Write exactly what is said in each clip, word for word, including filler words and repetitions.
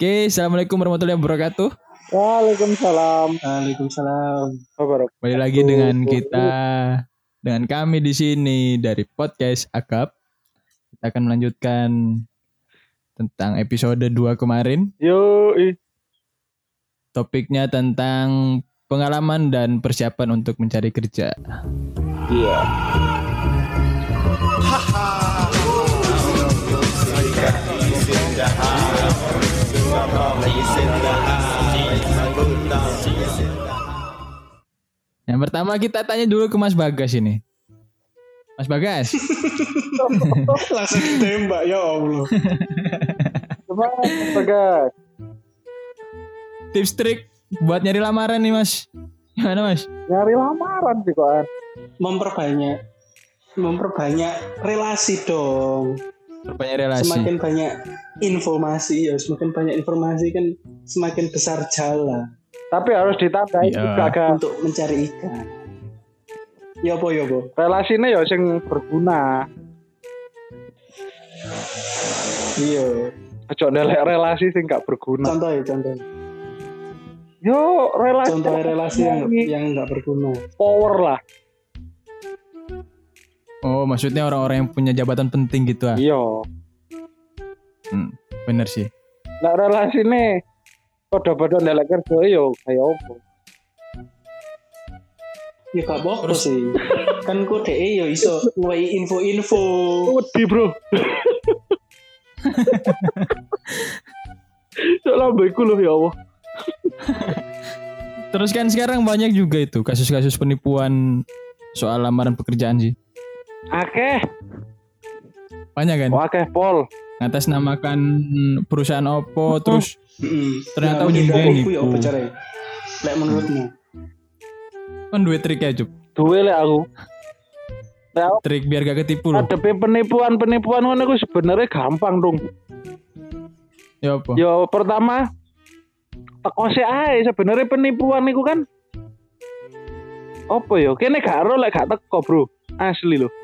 Oke, assalamualaikum warahmatullahi wabarakatuh. Waalaikumsalam. Waalaikumsalam. Kembali lagi dengan kita, dengan kami di sini dari podcast Akap. Kita akan melanjutkan tentang episode dua kemarin. Yo, Topiknya tentang pengalaman dan persiapan untuk mencari kerja. Iya. Yang pertama kita tanya dulu ke Mas Bagas ini. Mas Bagas. Langsung ditembak ya Allah. Coba Bagas. Tips trik buat nyari lamaran nih Mas. Gimana Mas? Nyari lamaran sih kok. Memperbanyak memperbanyak relasi dong. Perbanyak relasi. Semakin banyak informasi ya, semakin banyak informasi kan semakin besar jala. Tapi harus ditandai Iya. juga kan. Untuk mencari ikan. Ya apa ya apa? Relasinya ya sing berguna. Iya. Ojo ndelek relasi sing gak berguna. Contoh ya contoh. Yo, relasi. Contoh relasi yang yang nggak berguna. Power lah. Oh, maksudnya orang-orang yang punya jabatan penting gitu ah. Iya. Hmm, bener sih. Lah relasine padha-padha ndelek kerja yo kayak opo. Ya gak apa-apa sih. Kan kok dhek ya iso ngewehi info-info. Wedi, Bro. Sok lambeku lho ya Allah. Terus kan sekarang banyak juga itu kasus-kasus penipuan soal lamaran pekerjaan sih. Akeh. Banyak kan? Akeh pol. Ngatasnamakan perusahaan Oppo terus Heeh. ternyata Nah, ujungnya menipu nipu. ya apa caranya? Lek menurutmu? Kan duit trik ya Jup. Duwe lek aku. Lek aku Trik biar gak ketipu loh. adepe penipuan-penipuan ngono iku sebenarnya gampang dong. Ya apa? Yo pertama teko sik ae sebenarnya penipuan iku kan opo yo kene gak ero lek gak teko, Bro. Asli lho.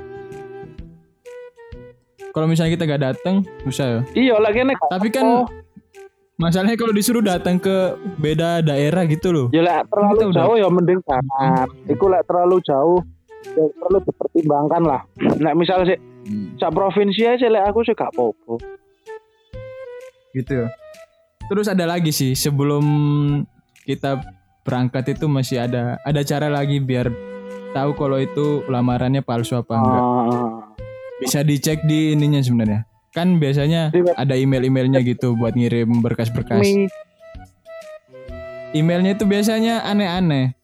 Kalau misalnya kita gak datang susah ya. Iya lek kene gak Tapi teko. kan masalahnya kalau disuruh datang ke beda daerah gitu loh. Ya lek Kita terlalu udah- jauh ya mending jangan. Iku lek terlalu jauh ya perlu dipertimbangkan lah. Nek misal sih Hmm, sak provinsi aja lek aku sih gak apa-apa. gitu ya. Terus ada lagi sih sebelum kita berangkat itu masih ada ada cara lagi biar tahu kalau itu lamarannya palsu apa enggak. Ah, Bisa dicek di ininya sebenarnya. Kan biasanya Di web- ada email-emailnya gitu buat ngirim berkas-berkas. mi Emailnya itu biasanya aneh-aneh.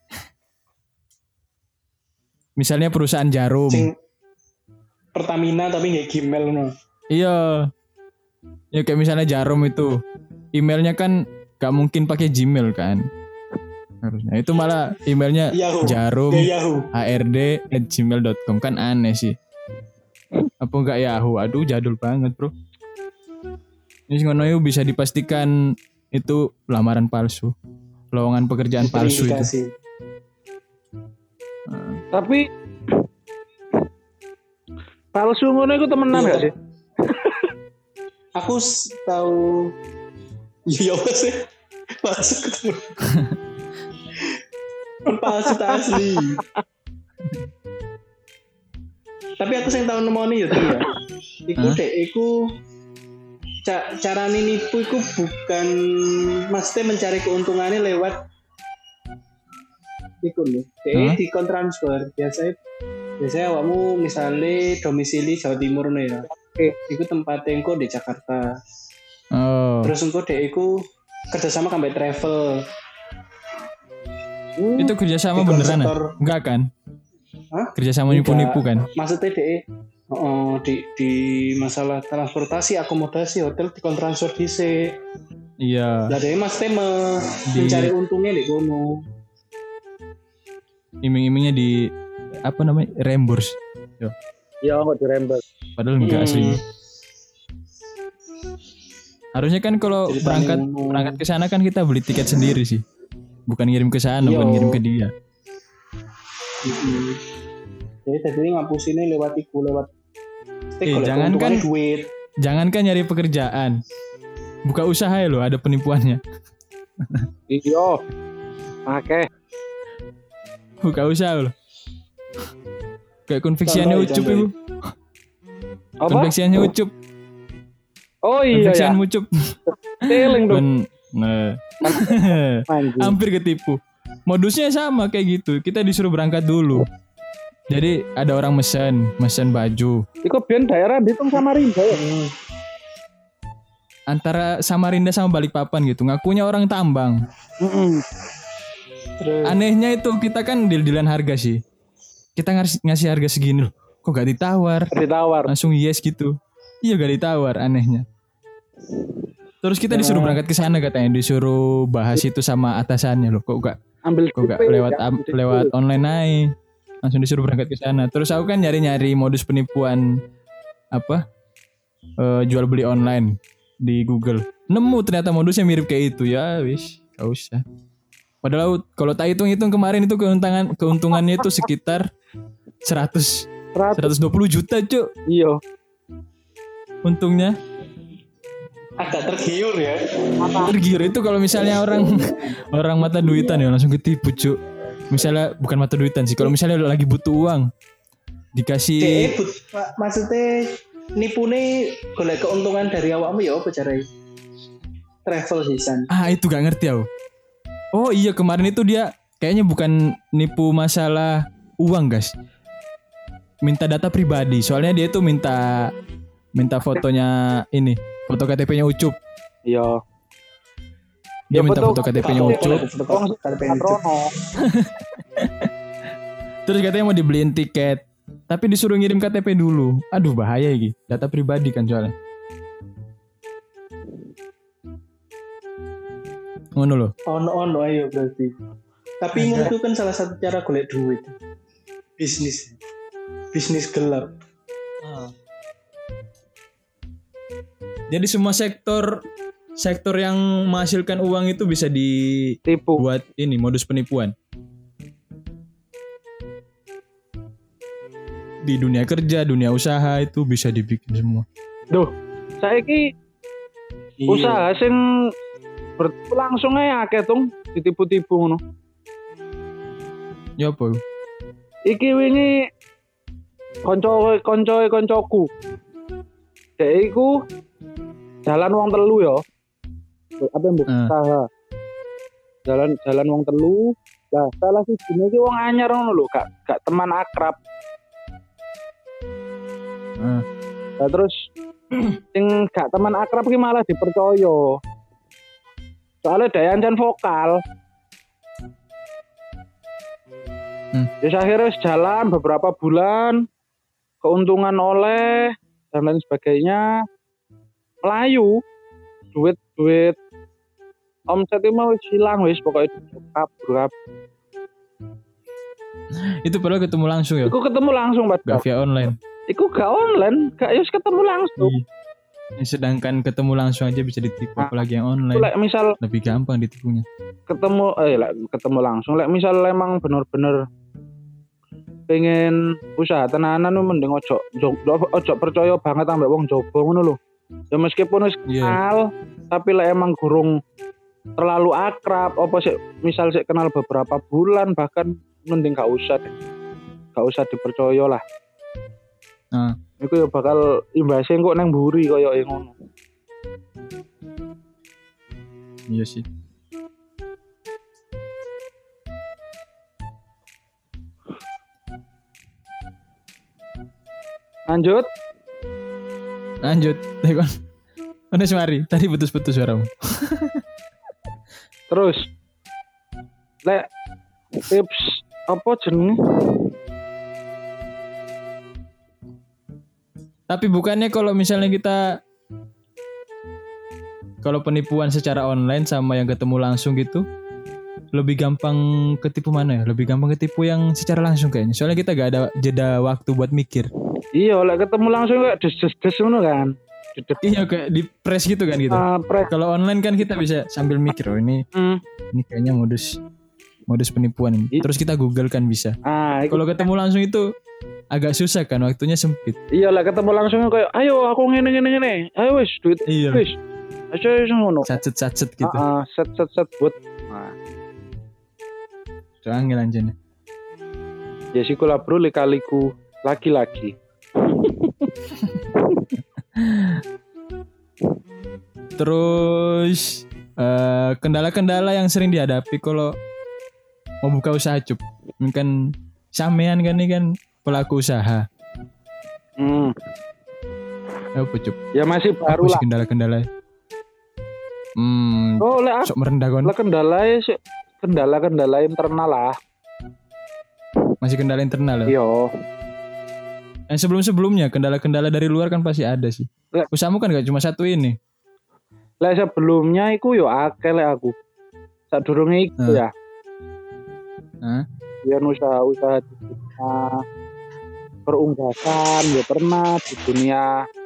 Misalnya perusahaan jarum. Sing Pertamina tapi nggak Gmail no. Iya. Ya kayak misalnya jarum itu. Emailnya kan gak mungkin pakai Gmail kan. Harusnya. Itu malah emailnya Yahoo. jarum Ya Yahoo. h r d at gmail dot com kan aneh sih. Apa enggak Yahoo? Aduh jadul banget bro. Ini ngono yuk bisa dipastikan itu lamaran palsu. Lowongan pekerjaan palsu itu. Terindikasi. tapi palsu ngono iku temenan Iya, gak sih? Aku s- tahu. Iya apa sih? Palsu ketemu. Palsu tak asli. Tapi aku sing tahu nemoni ya tuh ya. Iku Hah? dek, iku ca- cara nipu iku bukan mesti mencari keuntungannya lewat iku lho. Hah? Dek di kontransfer biasanya biasanya awakmu misalnya domisili Jawa Timur nih ya. Oke. Iku tempatnya engko di Jakarta. Oh. Terus engko dek iku kerjasama sampai travel. Hmm, Itu kerjasama Di beneran ya? konsektor. Enggak kan? Hah? Kerjasama Enggak. nipu-nipu kan? Maksudnya dek oh, di di masalah transportasi, akomodasi, hotel di kontransfer dhisik. Iya. Lah dek mesti me- Di- mencari untungnya di kono. Iming-imingnya di apa namanya? Reimburse. ya kok dirembes. Padahal enggak Hmm. aslinya. Harusnya kan kalau Ceritanya berangkat ngono. berangkat ke sana kan kita beli tiket sendiri sih. Bukan ngirim ke sana, Iya. bukan ngirim ke dia. Mm-mm. Jadi tadi ngapusinnya lewat iku lewat Eh, jangan kan- duit. Jangankan nyari pekerjaan. Buka usaha ya lo, ada penipuannya. Iya. Oke. Buka usaha lo. Kayak konveksiannya Contoh, Ucup contoh. itu. Apa? Konveksiannya Ucup. Oh iya ya. Konveksian Ucup. Teling dong. Ben- nah. Anjing. Hampir ketipu. Modusnya sama kayak gitu. Kita disuruh berangkat dulu. Jadi ada orang mesen, mesen baju. Iku biyen daerah dihitung Samarinda ya. Hmm. Antara Samarinda sama Balikpapan gitu. Ngakunya orang tambang. Heeh. Terus Anehnya itu kita kan deal-dealan harga sih. Kita ngasih, ngasih harga segini loh. Kok gak ditawar? Ditawar. Langsung yes gitu. Iya gak ditawar, anehnya. Terus kita disuruh berangkat ke sana katanya, disuruh bahas itu sama atasannya loh. Kok gak Ambil kok gak D P, lewat ya, am- D P. lewat online aja. Langsung disuruh berangkat ke sana. Terus aku kan nyari-nyari modus penipuan apa? Eh, jual beli online di Google. Nemu ternyata modusnya mirip kayak itu. Ya wis, gak usah. Padahal kalau tak hitung-hitung kemarin itu keuntungan keuntungannya itu sekitar seratus Seratus. seratus dua puluh juta, Cuk. Iya. Untungnya. agak tergiur ya. Tergiur itu kalau misalnya orang orang mata duitan ya langsung ketipu, Cuk. Misalnya bukan mata duitan sih, kalau misalnya lagi butuh uang dikasih Dek, but, ma- maksudnya nipune golek keuntungan dari awakmu ya apa caranya? Travel season. ah itu gak ngerti aku. Oh iya kemarin itu dia kayaknya bukan nipu masalah uang, guys. Minta data pribadi. Soalnya dia tuh minta minta fotonya ini, foto K T P-nya Ucup. Iya. Dia Ya, minta foto- foto K T P-nya Foto- Ucup. foto- foto- K T P-nya Ucup. Patrono. Terus katanya mau dibeliin tiket, tapi disuruh ngirim K T P dulu. Aduh bahaya iki, data pribadi kan soalnya. Ngono loh. Ono ono ayo berarti. Tapi itu kan salah satu cara golek duit. Bisnis. Bisnis gelap. Jadi semua sektor sektor yang menghasilkan uang itu bisa dibuat Tipu. ini modus penipuan. Di dunia kerja, dunia usaha itu bisa dibikin semua. Duh, saiki Iya. usaha sing ber- langsung aja akeh tung ditipu-tipu ngono. Ya apa? Iki wingi konco konco koncoku. Dek iku jalan wong telu ya. Apa mbok Eh. usaha. Jalan jalan wong telu. Lah salah sijine iki wong anyar ngono lho, gak gak teman akrab. Eh. Lah terus sing gak teman akrab ki malah dipercaya. Soalnya daya ancen vokal. Hmm. Terus akhirnya wis jalan beberapa bulan, keuntungan oleh dan lain sebagainya, melayu, duit duit omsetnya mau wis hilang wis pokoknya kabur. Itu padahal ketemu langsung ya. Iku ketemu langsung Gak padahal. via online. Iku gak online, gak yus ketemu langsung. Iya. Sedangkan ketemu langsung aja bisa ditipu, Nah, apalagi yang Iku online. lek misal Lebih gampang ditipunya. ketemu eh lek ketemu langsung, lek misal emang bener-bener pengen usaha tenanan lu mending ojo ojo, ojo percaya banget ambek wong jaba ngono lho. Ya meskipun wis Iya. kenal, tapi lek emang gurung terlalu akrab apa sih misal sih kenal beberapa bulan bahkan mending gak usah deh. Gak usah dipercaya lah. Nah, Iku ya bakal imbasnya kok nang mburi koyo ngono. iya sih. Lanjut. Lanjut. Tekon. Mana mari? Tadi putus-putus suaramu. Terus lek tips apa jenenge? Tapi bukannya kalau misalnya kita kalau penipuan secara online sama yang ketemu langsung gitu lebih gampang ketipu mana ya? Lebih gampang ketipu yang secara langsung kayaknya. Soalnya kita gak ada jeda waktu buat mikir. Iya, lek ketemu langsung kayak des-des ngono kan. Des-des. Iya kayak di press gitu kan gitu. Ah, pre- Kalau online kan kita bisa sambil mikir, oh ini Hmm. ini kayaknya modus modus penipuan ini. It- Terus kita Google kan bisa. Ah, iku- Kalau ketemu langsung itu agak susah kan, waktunya sempit. iya lah ketemu langsung kayak ayo aku ngene ngene ngene. Ayo wis duit Iya. wis. Aja wis ngono. Sacet-sacet gitu. Heeh, set set set buat. Nah, Angel anjene. ya siku lah bro lika-liku laki-laki. Terus eh, kendala-kendala yang sering dihadapi kalau mau buka usaha cup. Kan sampean kan ini kan pelaku usaha. Hmm. Apa cup? Ya masih baru Apa sih lah. kendala-kendala? Hmm, Oh, lek sok merendah kon. lah kendala sih kendala-kendala internal lah. Masih kendala internal ya. Iya. Yang sebelum-sebelumnya kendala-kendala dari luar kan pasti ada sih. Lek. Usahamu kan gak cuma satu ini. Lek sebelumnya iku yo akeh lek aku. Sadurunge iku Hmm. ya. Hah? Ya usaha-usaha di dunia perunggasan ya pernah di dunia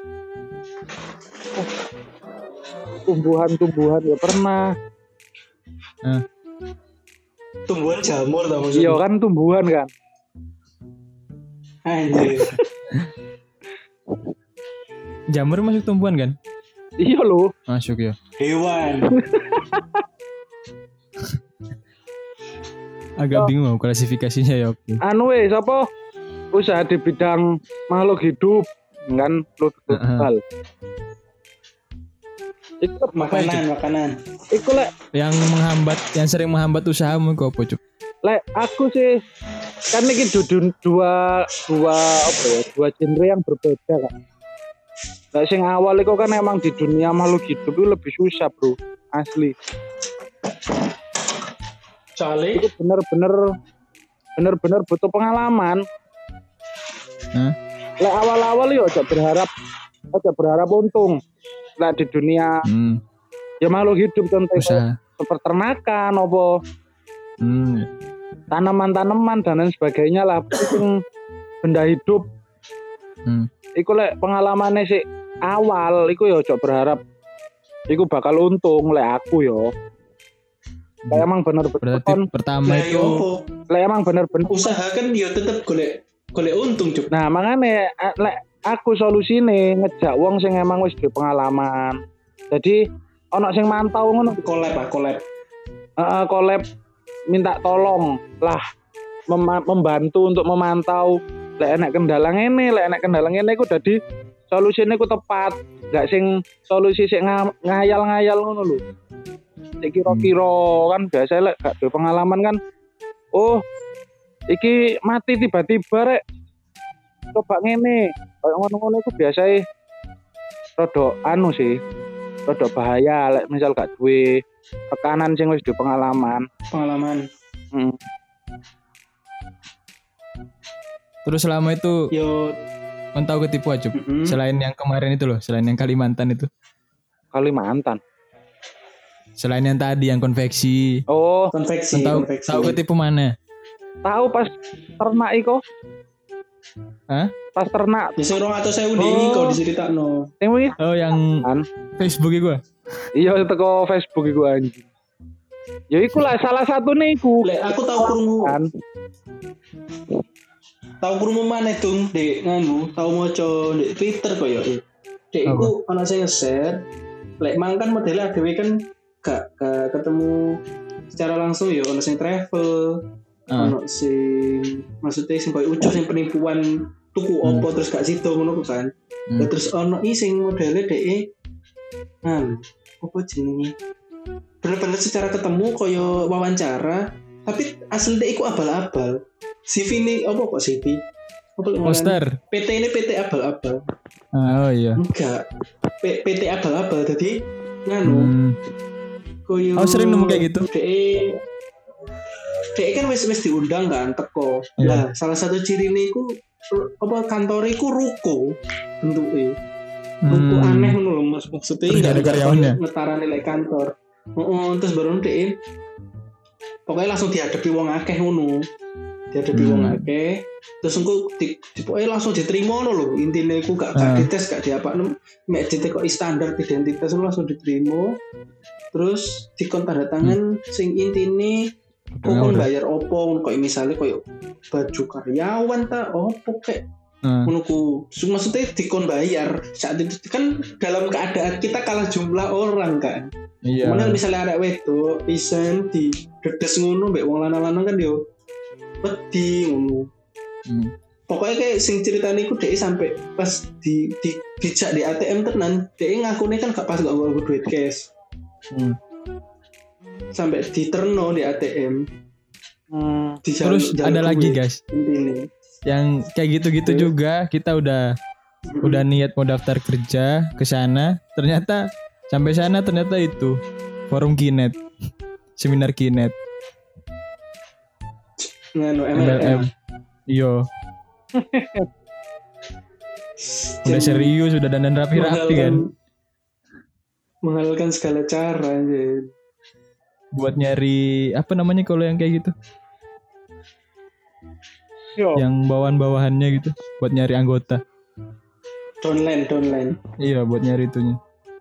eh, tumbuhan-tumbuhan ya pernah. Tumbuhan jamur tau Iya maksudnya. kan tumbuhan kan. Anjir. Jamur masuk tumbuhan kan? Iya loh. Masuk ya. Hewan. Agak bingung mau klasifikasinya ya. Oke. Anu weh sapa usaha di bidang makhluk hidup kan lu Heeh. hal. Iku Makanan, makanan. iku lek Yang menghambat, yang sering menghambat usahamu kok apa cup? lek aku sih kan ini dua dua dua apa ya dua genre yang berbeda kan. Lek sing awal itu kan emang di dunia makhluk hidup itu lebih susah bro asli. Soalnya Itu bener-bener bener-bener butuh pengalaman. Hah? Lek awal-awal yo aja berharap aja berharap untung. Lek di dunia Hmm, ya makhluk hidup contohnya usaha. peternakan apa Hmm, tanaman-tanaman dan lain sebagainya lah itu benda hidup. hmm. Iku lek pengalamannya sih awal iku yo aja berharap iku bakal untung lek aku yo. Lek emang bener-bener Berarti kon pertama nah itu yo apa? lek emang bener-bener Usaha kan yo tetep golek golek untung cuk. nah makanya eh, lek aku solusine ngejak wong sing emang wis duwe pengalaman. Jadi ono sing mantau ngono Collab ah, collab. heeh collab minta tolong lah mem- membantu untuk memantau lek enek kendala ngene lek enek kendala ngene iku dadi solusine ku tepat gak sing solusi sing nga- ngayal-ngayal ngono lho sik kira-kira kan biasa lek gak duwe pengalaman kan oh iki mati tiba-tiba rek coba ngene kayak ngono-ngono iku biasae rada anu sih rada bahaya lek misal gak duwe rekanan sing wis duwe pengalaman. Pengalaman. Hmm. terus selama itu Yo kan tahu ketipu aja. mm-mm. Selain yang kemarin itu loh, selain yang Kalimantan itu. Kalimantan. Selain yang tadi yang konveksi. Oh, konveksi, Kan tahu konveksi. tahu ketipu mana? tahu pas ternak iko. Hah? Pas ternak. Ya sing rong atus ewu ini Oh. kok diceritakno. Sing wingi Oh yang kan. Facebook itu. Iya teko Facebook iku anjing. Ya iku lah salah satu nih iku. Lek aku tahu krungu, Kan. tahu krungu maneh Tung, Dek nganu, tahu maca di Twitter kok ya. Dek iku ana sing nge-share, lek mang kan modelnya dhewe kan gak, gak ketemu secara langsung ya, ana sing travel, Ah. ono sing maksudnya sing koyo ucuk sing penipuan tuku Hmm. opo terus gak sido ngono ku kan. Hmm. Lah terus ono i sing modele dhek anu apa jenenge? Bener-bener secara ketemu koyo wawancara, tapi asli dhek iku abal-abal. C V ini apa kok C V? Apa lek ngaran? Poster. P T ini P T abal-abal. Ah, oh iya. Enggak. P- PT abal-abal tadi nganu Hmm. koyo Oh, sering nemu kayak gitu? Dhek Dhek kan wis wis diundang kan teko. Iya. Lah, salah satu ciri ini ku apa kantor iku ruko bentuke. Ruko Hmm. aneh ngono lho Mas maksudnya Terus enggak ada karyawannya? ngetara nilai kantor. Heeh, terus baru dhek pokoknya langsung dihadapi wong akeh ngono. Dihadapi Hmm. wong akeh. Terus engko di, di pokoknya langsung diterima ngono lho. Intine iku gak gak Ah. dites gak diapakno. Mek ditekoki standar identitas lu langsung diterima. Terus dikon tanda tangan sing intine kok Udah, kon udah. bayar opo koyo misalnya koyo baju karyawan ta opo kek Nah, Menurutku maksudnya dikon bayar saat itu kan dalam keadaan kita kalah jumlah orang kan. iya. Cuman kan misalnya ada wedok isen di dedes ngono mbek wong lanang-lanang kan yo wedi ngono. Hmm. Pokoknya kayak sing ceritanya iku dhek sampai pas di di dijak di A T M tenan, dhek ngakune kan gak pas gak nganggo duit cash. Hmm. Sampai diterno di A T M. Hmm. Di Terus ada lagi guys, Intine. yang kayak gitu-gitu Oke. juga kita udah udah niat mau daftar kerja ke sana, ternyata sampai sana ternyata itu forum Kinet, seminar Kinet, Nganu M M L L M. M. Iyo, udah serius, udah dandan rapi-rapi kan, Menghalalkan segala cara aja. buat nyari apa namanya kalau yang kayak gitu, Yo. yang bawahan-bawahannya gitu, buat nyari anggota. Downline, downline. Iya, buat nyari itunya.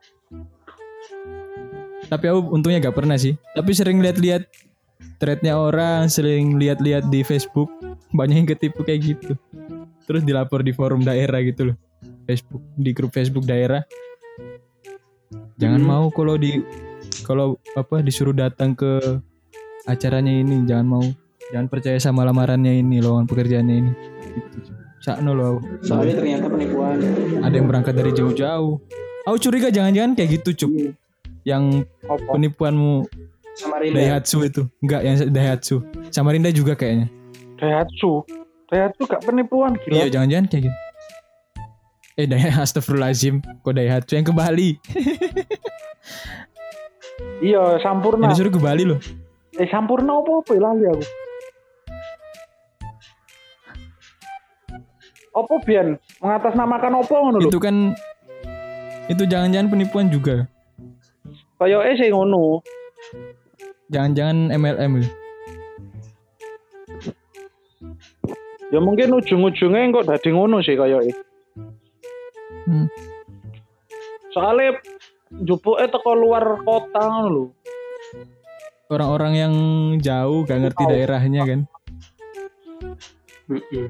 Tapi aku untungnya gak pernah sih. Tapi sering lihat-lihat threadnya orang, sering lihat-lihat di Facebook, banyak yang ketipu kayak gitu. Terus dilapor di forum daerah gitu loh, Facebook, di grup Facebook daerah. Jangan Hmm. mau kalau di kalau apa disuruh datang ke acaranya ini, jangan mau, jangan percaya sama lamarannya ini, lowongan pekerjaannya ini. Gitu. Sakno loh. Soalnya ternyata penipuan. Ada yang berangkat dari jauh-jauh. Aku curiga jangan-jangan kayak gitu, Cuk. Yang Apa? penipuanmu Samarinda. Daihatsu itu. Enggak, yang Daihatsu. Samarinda juga kayaknya. Daihatsu. Daihatsu gak penipuan gila. Iya, jangan-jangan kayak gitu. Eh, Daihatsu, astagfirullahaladzim. Kok Daihatsu yang ke Bali? Iya, Sampurna. Yang disuruh ke Bali loh. Eh Sampurna apa apa lali aku. Apa Bian? Mengatasnamakan apa ngono lho? Itu kan itu jangan-jangan penipuan juga. Kayak eh sing ngono. Jangan-jangan M L M gitu. Ya mungkin ujung-ujungnya kok dadi ngono sih kayak eh. Hmm. Soalnya jupuke teko luar kota ngono lho. Orang-orang yang jauh gak ngerti daerahnya kan. Mm-mm.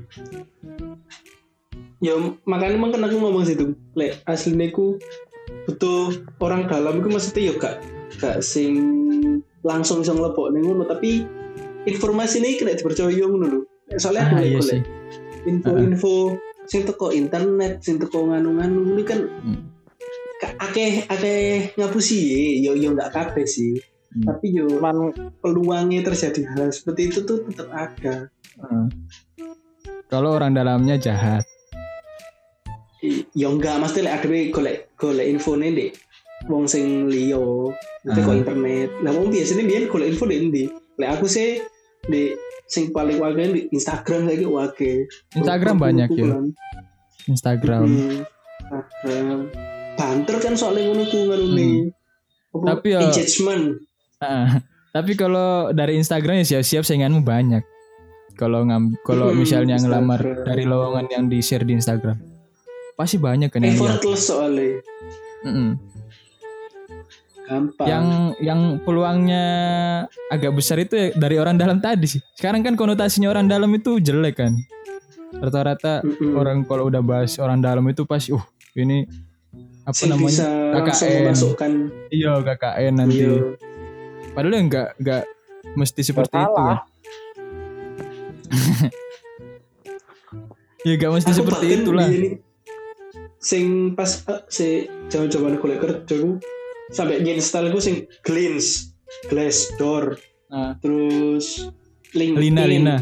Ya makanya emang kan aku ngomong situ. Lek aslinya ku butuh orang dalam itu maksudnya ya gak gak sing langsung bisa ngelepok nih ngono, tapi informasi ini kena dipercaya ngono lho. Soalnya Ah, aku iya lek sih. info-info sing teko internet, sing teko nganu-nganu ini kan Hmm. ka- akeh akeh ngapusi ya, yo yo nggak kabeh sih. Hmm. Tapi yo Man peluangnya terjadi hal seperti itu tuh tetap ada. Hmm. Kalau orang dalamnya jahat. I- Ya enggak, mesti lek adewe golek golek infone ndek wong sing liya, nanti Ah. kok internet. Lah wong biasanya biyen golek info ndek ndi? Lek aku sih di sing paling wakil di Instagram saiki wakil. Instagram banyak ya. Instagram. Hmm, Instagram. Banter kan soalnya ngono ku ngarune. Apa, Tapi ya- engagement. Ah, tapi kalau dari Instagram ya siap-siap sainganmu banyak. Kalau ngam, kalau Hmm, misalnya ngelamar Instagram. dari lowongan yang di share di Instagram, pasti banyak kan yang lihat. Effortless soalnya. Mm-mm. Gampang. Yang yang peluangnya agak besar itu ya dari orang dalam tadi sih. Sekarang kan konotasinya orang dalam itu jelek kan. Rata-rata Mm-mm. orang kalau udah bahas orang dalam itu pasti, uh ini apa Sing namanya bisa langsung K K N. memasukkan. Iya K K N nanti. Iya. Padahal ya nggak nggak mesti seperti itu salah. kan. Ya gak mesti Aku seperti bahkan itulah. biyen ini, sing pas uh, si jaman-jaman golek kerja ku sampai install ku sing Glance, Glassdoor, Nah, terus LinkedIn, Lina Lina.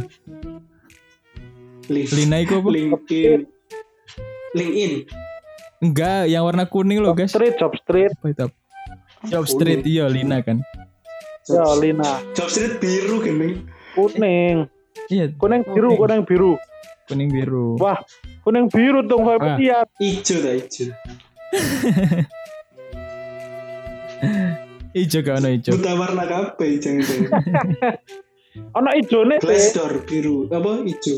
Link- Lina itu apa? LinkedIn, LinkedIn, Enggak, yang warna kuning loh Job guys. Street, Job Street. Apa itu? Job Street, iya Lina kan. Ya Lina. Job Street biru gini. Kuning. Iya, Kuning biru, Kuning. kuning biru. kuning biru. Wah, kuning biru dong kayak Wah. petiat. Ijo dah ijo. Ijo gak ono ijo. Buta warna kabeh jangan-jangan. Ono ijone sih. Glassdoor biru, apa ijo?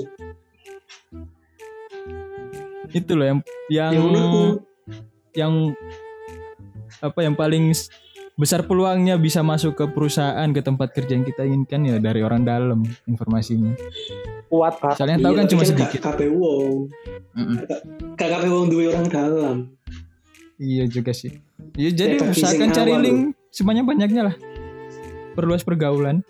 Itu loh yang yang Ya menurutku yang apa yang paling besar peluangnya bisa masuk ke perusahaan, ke tempat kerja yang kita inginkan ya dari orang dalam informasinya. Kuat banget. Soalnya tahu kan Iya, cuma tapi sedikit. K K P wong. Mm-mm. K K P wong duwe orang dalam. Iya juga sih. Ya, jadi Kayak bagi usahakan sing cari awal link sebanyak-banyaknya lah. Perluas pergaulan.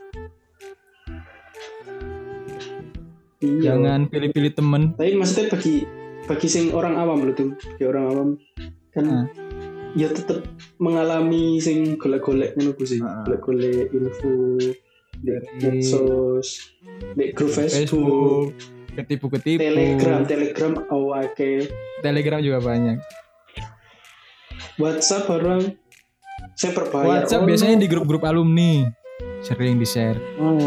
Iya. Jangan pilih-pilih temen. Tapi maksudnya bagi bagi sing orang awam loh tuh, bagi orang awam kan Ah. ya tetap mengalami sing golek-golek ngono ku sih. Ah. Golek-golek info di Dari medsos, di grup Facebook, Facebook, ketipu-ketipu. Telegram, Telegram awake, Telegram juga banyak. WhatsApp orang saya berbayar. WhatsApp Oh, biasanya no. di grup-grup alumni sering di-share. Hmm.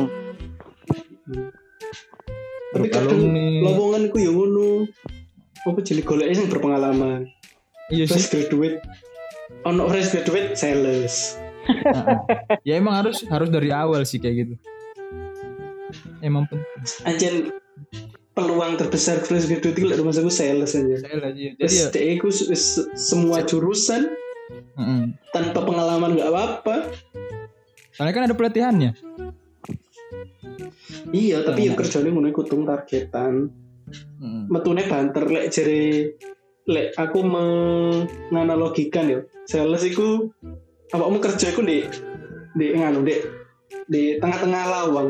Tapi Grup kadang alumni. lowongan ku ya ngono. Apa jadi golek sing berpengalaman. Iya Fresh sih. graduate. Ono fresh graduate sales. Heeh. Ya emang harus harus dari awal sih kayak gitu. Emang penting. Anjen peluang terbesar fresh graduate itu lek rumah aku sales aja. Saya lah iya. Jadi Terus ya. dia aku se- se- semua jurusan Heeh. tanpa pengalaman nggak apa-apa. Soalnya kan ada pelatihannya. Iya, tapi ya Nah. kerjanya ngono kutung targetan. Heeh. Metune banter lek jere lek aku menganalogikan ya. Sales iku awakmu kerja iku di di nganu di di tengah-tengah lawang.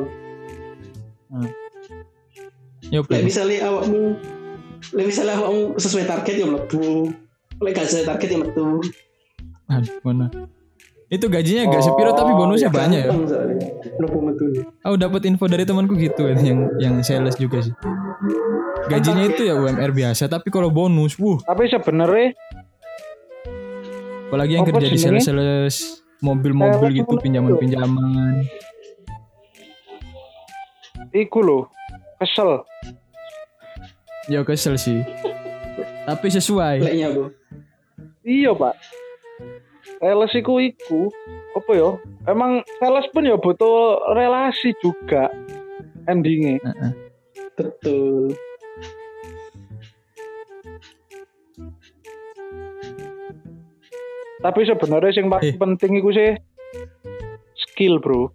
Ya Lek misalnya awakmu lek misalnya awakmu sesuai target ya mlebu. Lek gak sesuai target ya metu. Aduh, mana? Itu gajinya gak Oh, sepiro tapi bonusnya banyak ya. Gampang soalnya. Mlebu metune. Aku dapat info dari temanku gitu kan, yang yang sales juga sih. Gajinya itu ya U M R biasa tapi kalau bonus, wuh, Tapi sebenarnya apalagi yang Apa kerja di jenenge? sales-sales mobil-mobil Sales gitu, itu pinjaman-pinjaman. iku loh kesel. Ya kesel sih. Tapi sesuai. Leknya Bu. Iya pak. Sales iku iku apa ya? Emang sales pun ya butuh relasi juga endingnya. Heeh. Betul. Tapi sebenarnya yang paling Eh. penting iku sih skill bro.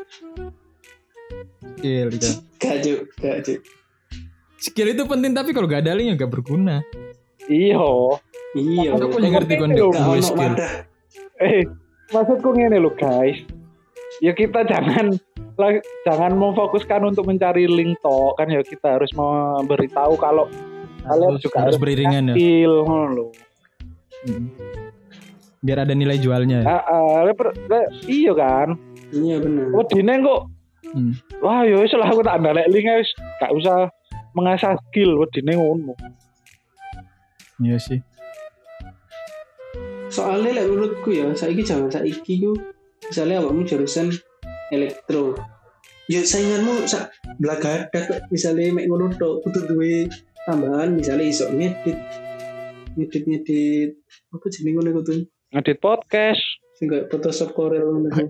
Skill gitu. Gak Cuk, gak Cuk. Skill itu penting tapi kalau gak ada linknya gak berguna. Iya. Iya. Aku punya ngerti Penting kondisi loh, Gak gue ono skill. wadah. Eh, maksudku ngene loh guys. Ya kita jangan lah- jangan memfokuskan untuk mencari link toh kan ya kita harus memberitahu kalau kalian Harus, juga harus harus beriringan ya. skill ngono loh. Mm. Biar ada nilai jualnya. Ah, ah, le- per- le- iya kan. Iya benar. Wedine kok Hmm. wah ya wis lah aku tak ndalek link wis gak usah mengasah skill wedine ngono. Iya sih. Soalnya lek menurutku ya, saiki jangan saiki ku misalnya awakmu jurusan elektro. Ya sainganmu sak blagadak misalnya mek ngono tok kudu duwe tambahan misalnya iso ngedit ngedit ngedit apa jenenge ngono kudu Ngedit podcast. sing kayak Photoshop Corel ngono ku.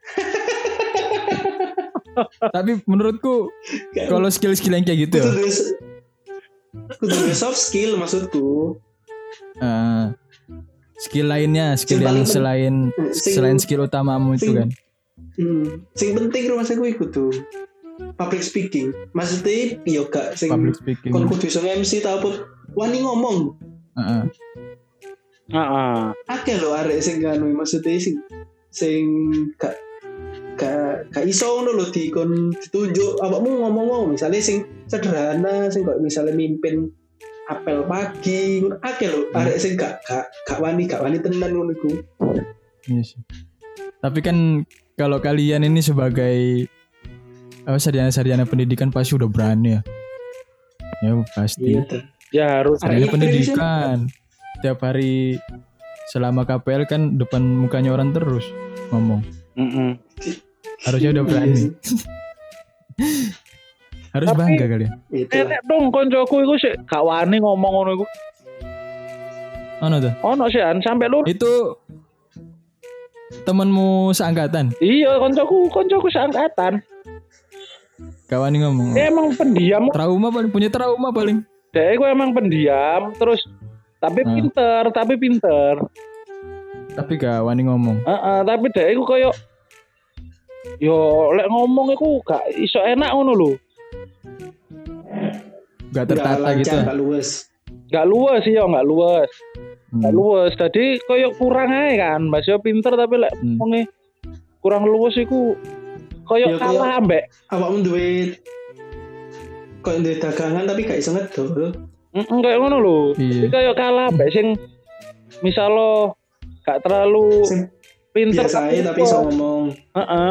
Tapi menurutku kalau skill-skill yang kayak gitu Kudu ya, duwe s- kudu duwe soft skill maksudku. eh, skill lainnya, skill Sing yang paling pen- selain sing- selain skill utamamu itu sing- kan. Hmm, sing penting rumah saya iku tuh public speaking. Maksudnya yo gak sing Public speaking. kon kudu iso M C ta apa wani ngomong. Heeh. Heeh. Akeh lho arek sing kanu maksudnya sing sing gak gak gak iso ngono lho dikon ditunjuk awakmu ngomong-ngomong misalnya sing sederhana sing kok misalnya mimpin apel pagi ngono akeh lho arek sing gak gak gak wani gak wani tenan ngono iku. Iya sih. Tapi kan kalau kalian ini sebagai apa sarjana-sarjana pendidikan pasti udah berani ya. Ya pasti. Iya tuh. Ya harus Ada Sarjana yang pendidikan. Tiap hari selama K P L kan depan mukanya orang terus ngomong. Mm-mm. Harusnya udah Iya berani. sih. Harus Tapi- bangga kalian. Itu. Enek dong koncoku iku sik gak wani ngomong ngono iku. Ono tuh. Ono sih an sampai lu. Itu temanmu seangkatan. Iya koncoku koncoku seangkatan. Kawan ini ngomong. Dia emang pendiam. Trauma paling punya trauma paling. Dia iku emang pendiam terus tapi Hmm. pinter, tapi pinter. Tapi gak wani ngomong. Heeh, tapi dhek iku koyo yo lek ngomong iku gak iso enak ngono lho. Gak tertata gitu. Gak luwes. Gak luwes sih yo, gak luwes. Hmm. Gak luwes. Dadi koyo kurang ae kan. Mas yo pinter tapi lek Hmm. ngomongi kurang luwes iku koyo Ya, kalah koyo- ambek. Awakmu duwe koyo duwe dagangan tapi gak iso ngedol. Heeh, koyo ngono lho. Iya. Iki koyo kalah ambek sing misalo gak terlalu Sing pinter biasa ae tapi iso ngomong. Heeh.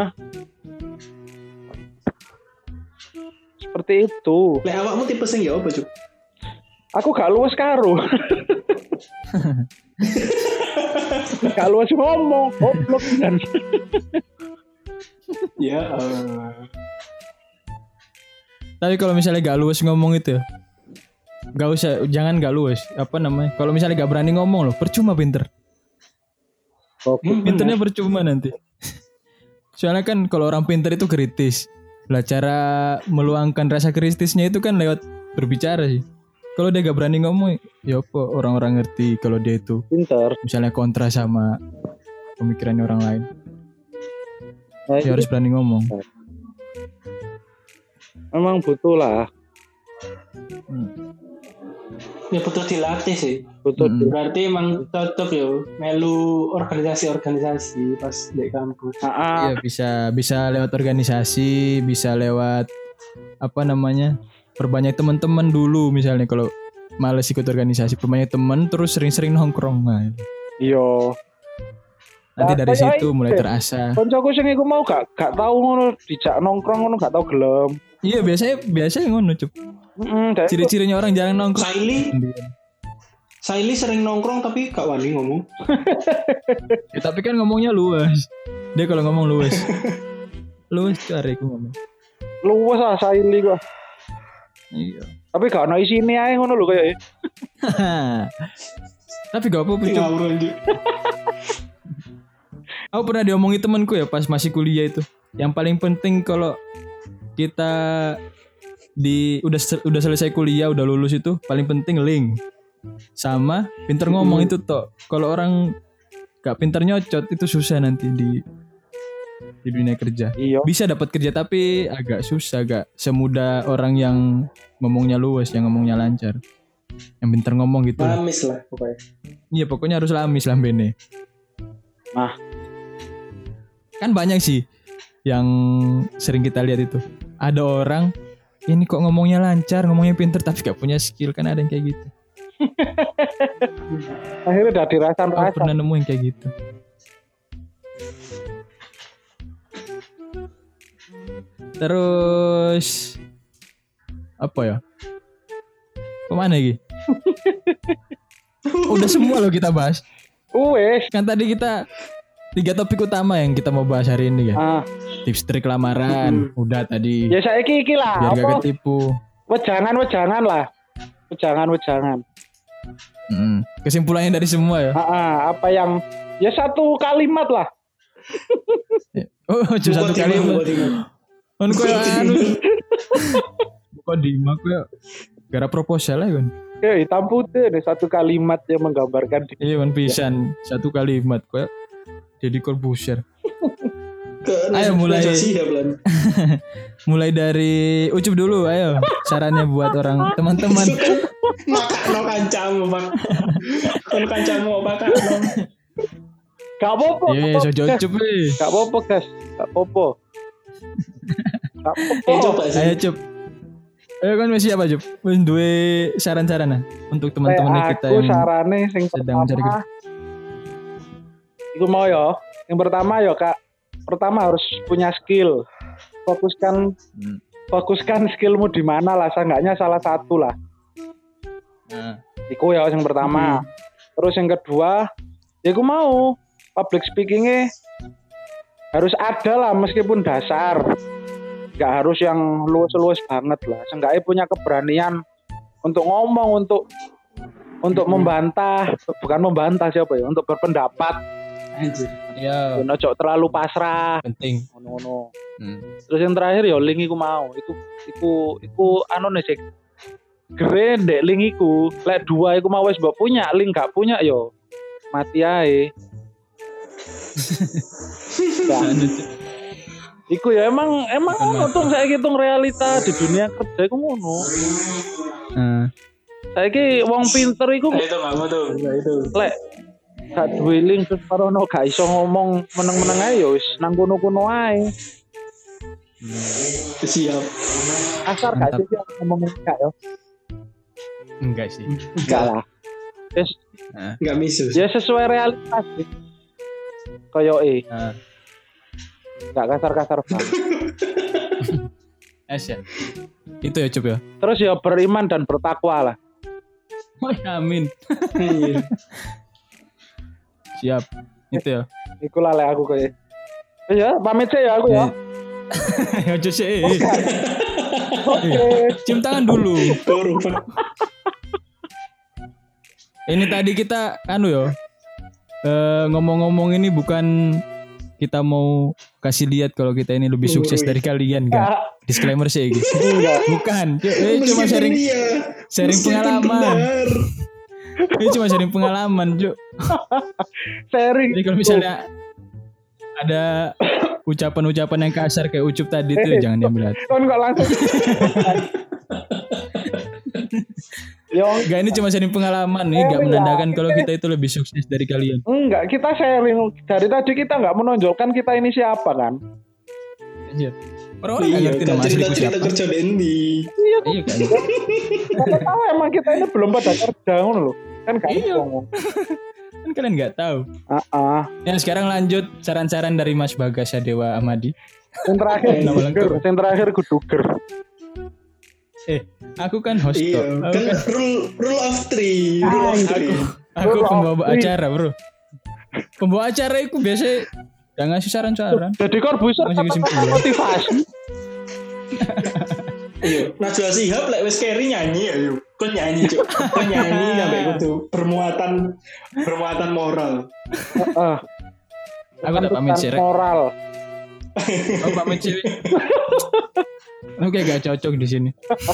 Seperti itu. Lek awakmu tipe sing ya apa, Cuk? Aku gak luwes karo. Gak luwes ngomong, goblok kan. Ya Allah. Tapi kalau misalnya gak luwes ngomong itu, gak usah, jangan gak luwes. Apa namanya? Kalau misalnya gak berani ngomong loh, percuma pinter. Hmm, Pinternya percuma nanti. Soalnya kan kalau orang pinter itu kritis. Lah cara meluangkan rasa kritisnya itu kan lewat berbicara sih. Kalau dia gak berani ngomong, ya apa orang-orang ngerti kalau dia itu Pinter. misalnya kontra sama pemikirannya orang lain. Nah, Dia itu harus berani ngomong. memang butuh lah. Hmm. Ya butuh dilatih sih. Butuh Hmm. Berarti emang cocok ya melu organisasi-organisasi pas di kampus. Ah, ah. Iya bisa bisa lewat organisasi, bisa lewat apa namanya? Perbanyak teman-teman dulu misalnya kalau males ikut organisasi, perbanyak teman terus sering-sering nongkrong. Nah, Iya. nanti Nah, dari kayak situ itu. mulai terasa. Koncoku sing iku mau gak gak tau ngono dijak nongkrong ngono gak tau gelem. Iya biasanya biasanya ngono cup. Heeh, dek. Ciri-cirinya orang jarang nongkrong. Saili, sendirian. Saili sering nongkrong tapi gak wani ngomong. Ya, tapi kan ngomongnya luas. Dia kalau ngomong luas. Luas cari aku ngomong. Luwes ah saili kok. Iya. Tapi gak ono isine ae ngono lho koyo. Tapi gak apa-apa cup. Ngawur anjir. Aku pernah diomongi temanku ya pas masih kuliah itu. Yang paling penting kalau kita di udah sel- udah selesai kuliah, udah lulus itu paling penting link sama pinter ngomong Hmm. itu toh. Kalau orang gak pinter nyocot itu susah nanti di di dunia kerja. Iya. Bisa dapat kerja tapi agak susah, gak semudah orang yang ngomongnya luas, yang ngomongnya lancar. Yang pinter ngomong gitu. Lamis lah pokoknya. Iya pokoknya harus lamis lambene. Nah. Kan banyak sih yang sering kita lihat itu. Ada orang ini kok ngomongnya lancar, ngomongnya pinter tapi gak punya skill, kan ada yang kayak gitu. Akhirnya udah Aku dirasakan-rasakan. pernah nemu yang kayak gitu. Terus apa ya? Kemana lagi? Udah semua loh kita bahas. Wes. Kan tadi kita tiga topik utama yang kita mau bahas hari ini ya. Ah, Tips trik lamaran, udah tadi. ya saiki iki lah. Biar gak Apa? ketipu. Wejangan-wejangan lah. Wejangan-wejangan. Mm. Kesimpulannya dari semua ya. Ah, ah, apa yang ya satu kalimat lah. Oh, cuma satu Buka kali. timah, buka timah. Kan koyo anu. Kok di mak koyo gara proposal ya kan. Ya hitam putih nih satu kalimat yang menggambarkan di- Iya kan pisan satu kalimat koyo jadi Corbusier. Ke Ayo, mulai. Siap lan. Mulai dari Ucup dulu, ayo. Sarannya buat orang teman-teman. Maka no kancamu, Pak. Kon kancamu apa kan? Gak apa-apa. Iya, so Gas. Ucup eh. Gak apa-apa, guys. Gak apa-apa. Gak apa-apa. Eh coba sih. Ayo Cup. Ayo kan masih apa Cup? Wis duwe saran-saran nah untuk teman-teman Lek kita aku yang sarane sing sedang mencari pertama iku mau ya. Yang pertama ya Kak, pertama harus punya skill. Fokuskan Hmm. fokuskan skillmu di mana lah, seenggaknya salah satu lah. Nah, Iku ya yang pertama. Terus yang kedua, ya aku mau public speakingnya harus ada lah meskipun dasar. Gak harus yang luas-luas banget lah. Seenggaknya punya keberanian untuk ngomong, untuk untuk membantah, bukan membantah siapa ya, untuk berpendapat. Anjir. iya, Ojo terlalu pasrah. penting. Ngono-ngono. Hmm. Terus yang terakhir ya link iku mau. Iku iku iku anu nih sik. Gere ndek link iku, lek dua iku mau wis mbok punya, link gak punya yo mati ae. Ya, Lanjut, Cuk. iku ya emang emang ngono tuh saya hitung realita di dunia kerja iku ngono. Nah, Saiki wong pinter iku Nah, itu kamu tuh, nah, itu. lek gak duwe link terus parono gak iso ngomong meneng-meneng ae ya wis nang kono-kono ae. Siap. Asar gak Mantap. sih ngomong gak ya? enggak sih. Enggak lah. Wis Nah, Enggak misus. ya sesuai realitas sih. Koyo e, nah. gak kasar-kasar banget. Es ya. Itu ya, Cup ya. Terus ya beriman dan bertakwa lah. Oh, ya, amin. Iya. Siap. Itu ya. Iku lah lek aku koyo. Ya, pamit sih ya aku ya. Ya, Cuk sih. Oke. Cium tangan dulu. Turun, Pak. Ini tadi kita anu ya. Eh, ngomong-ngomong ini bukan kita mau kasih lihat kalau kita ini lebih sukses dari kalian, enggak. Disclaimer sih gitu. Enggak. Bukan. Eh, cuma Meskipun sharing iya, sharing meskipun pengalaman. benar. Ini cuma sharing pengalaman, Cuk. Sharing. Jadi kalau misalnya ada ucapan-ucapan yang kasar kayak ucup tadi tuh Eh, jangan diambil hati. Kon kok langsung. Yo, Enggak, ini cuma sharing pengalaman nih, enggak menandakan kalau kita itu lebih sukses dari kalian. enggak, kita sharing. Dari tadi kita enggak menonjolkan kita ini siapa kan? Anjir. Orang-orang enggak Iya, ngerti kan nama asliku cerita-cerita siapa. kerja Dendi. Iya, Iya kan. kita tahu emang kita ini belum pada kerja ngono loh. Kan gak Iya. ngomong. Kan kalian enggak tahu. Heeh. Ya, sekarang lanjut saran-saran dari Mas Bagas Sadewa Amadi. Yang terakhir Nama guduger, lengkap. yang terakhir guduger. Eh, aku kan host Iya, kok. Aku kan kan rule rule of three, rule of three. aku Bro, pembawa please. acara, Bro. Pembawa acara itu biasa jangan ngasih saran-saran. Jadi kor bisa Masih kata-kata kesimpulan. motivasi. Iya, Najwa Shihab lek wis carry nyanyi ya, yuk. Kok nyanyi, Cuk. Kok nyanyi sampai kudu bermuatan bermuatan moral. Heeh. Aku tak pamit sih, Rek. Moral. Aku pamit sih. Oke, gak cocok di sini.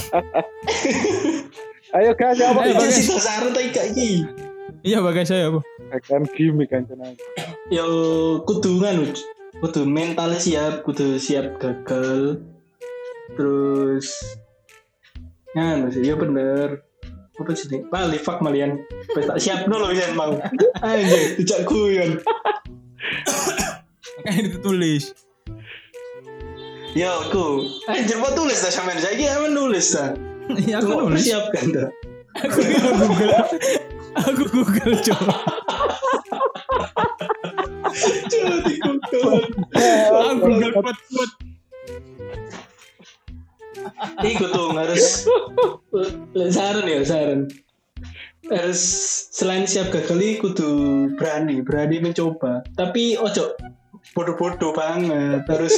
Ayo guys, apa? Eh, Iki Bagas. sih sasaran ta iki iki. Iya, Bagas saya, Bu. Kan gimmick kan jenenge. Yo kudu nganu, kudu mental siap, kudu siap gagal. Terus nganu sih, ya bener. Apa sih nih? Bali fuck malian. Wis tak siapno lho yen mau. Anjir, dijak guyon. Makanya ditulis. Yo aku. Anjir mau tulis dah sampean saiki sampean nulis dah. Iya, aku Mau nulis. persiapkan dah. Aku Google. Aku Google, coba. Coba di Google. Aku Google put-put. Iku tuh harus saran ya saran. Harus selain siap gagal iku kudu berani, berani mencoba. Tapi ojo bodoh-bodoh banget. Terus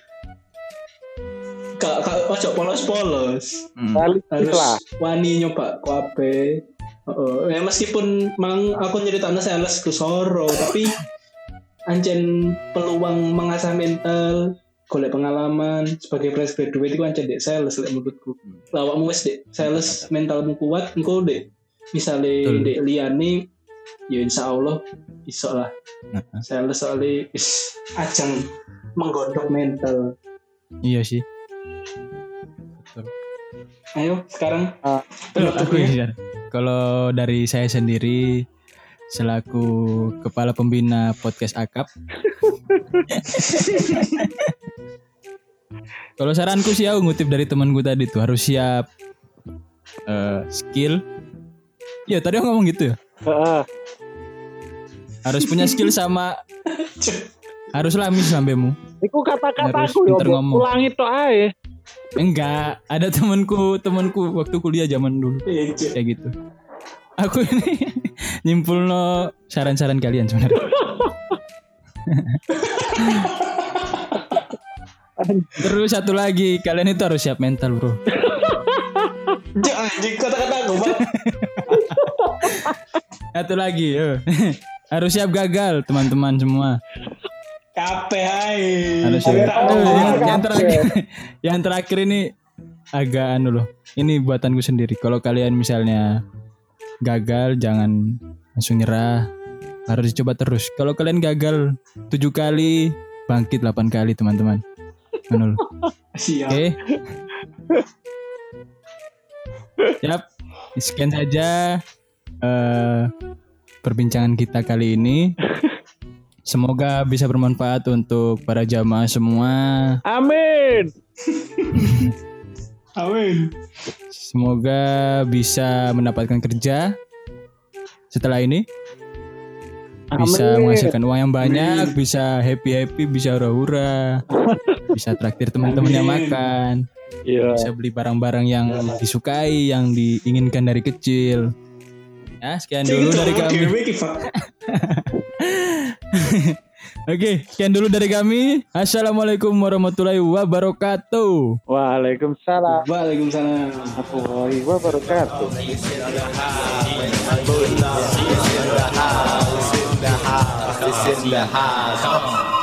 kak kak ojo polos-polos. Hmm. Balik Harus lah. wani nyoba kuape. Oh, ya meskipun mang aku nyeritaknya sales ke Soro, tapi ancen peluang mengasah mental, golek pengalaman sebagai fresh graduate itu ancen dek sales lek menurutku. Lawakmu wis dek sales mentalmu kuat, engko dek misale Betul. dek liyane ya insyaallah iso lah. Nah, Sales soalnya is ajang menggodok mental. iya sih. Ayo sekarang Ah, Loh, aku penutupnya. ini kalau dari saya sendiri selaku kepala pembina podcast Akap. Kalau saranku sih aku ngutip dari temanku tadi tuh harus siap eh, skill. Ya tadi aku ngomong gitu ya. Heeh. Harus punya skill sama harus lamis sambemu. Iku Harus kata-kataku yo pinter ngomong. ulangi tok ae. Enggak, ada temanku temanku waktu kuliah zaman dulu Iya, Cuk. kayak gitu. Aku ini nyimpul no saran-saran kalian sebenarnya. Terus satu lagi, kalian itu harus siap mental, bro. Cuk, anjing kata-kata gue Bang. Satu lagi, yo. Harus siap gagal, teman-teman semua. Kape hai. Harus Ayo, siap. tahu, Oh, yang, tahu, yang kape. terakhir, yang terakhir ini agak anu loh. Ini buatanku sendiri. Kalau kalian misalnya gagal, jangan langsung nyerah. Harus dicoba terus. Kalau kalian gagal tujuh kali, bangkit delapan kali teman-teman. Ngono lho. Siap. Oke. Siap. Sekian saja eh, perbincangan kita kali ini. Semoga bisa bermanfaat untuk para jamaah semua. Amin. Amin. Semoga bisa mendapatkan kerja setelah ini. Bisa Amin. menghasilkan uang yang banyak, bisa happy-happy, bisa hura-hura, bisa traktir teman-temannya Amin. makan, Iya. bisa beli barang-barang yang disukai, yang diinginkan dari kecil. Ya, sekian dulu dari kami. Oke, sekian dulu dari kami. Assalamualaikum warahmatullahi wabarakatuh. Waalaikumsalam Waalaikumsalam. warahmatullahi wabarakatuh. It's in the house. It's in the house.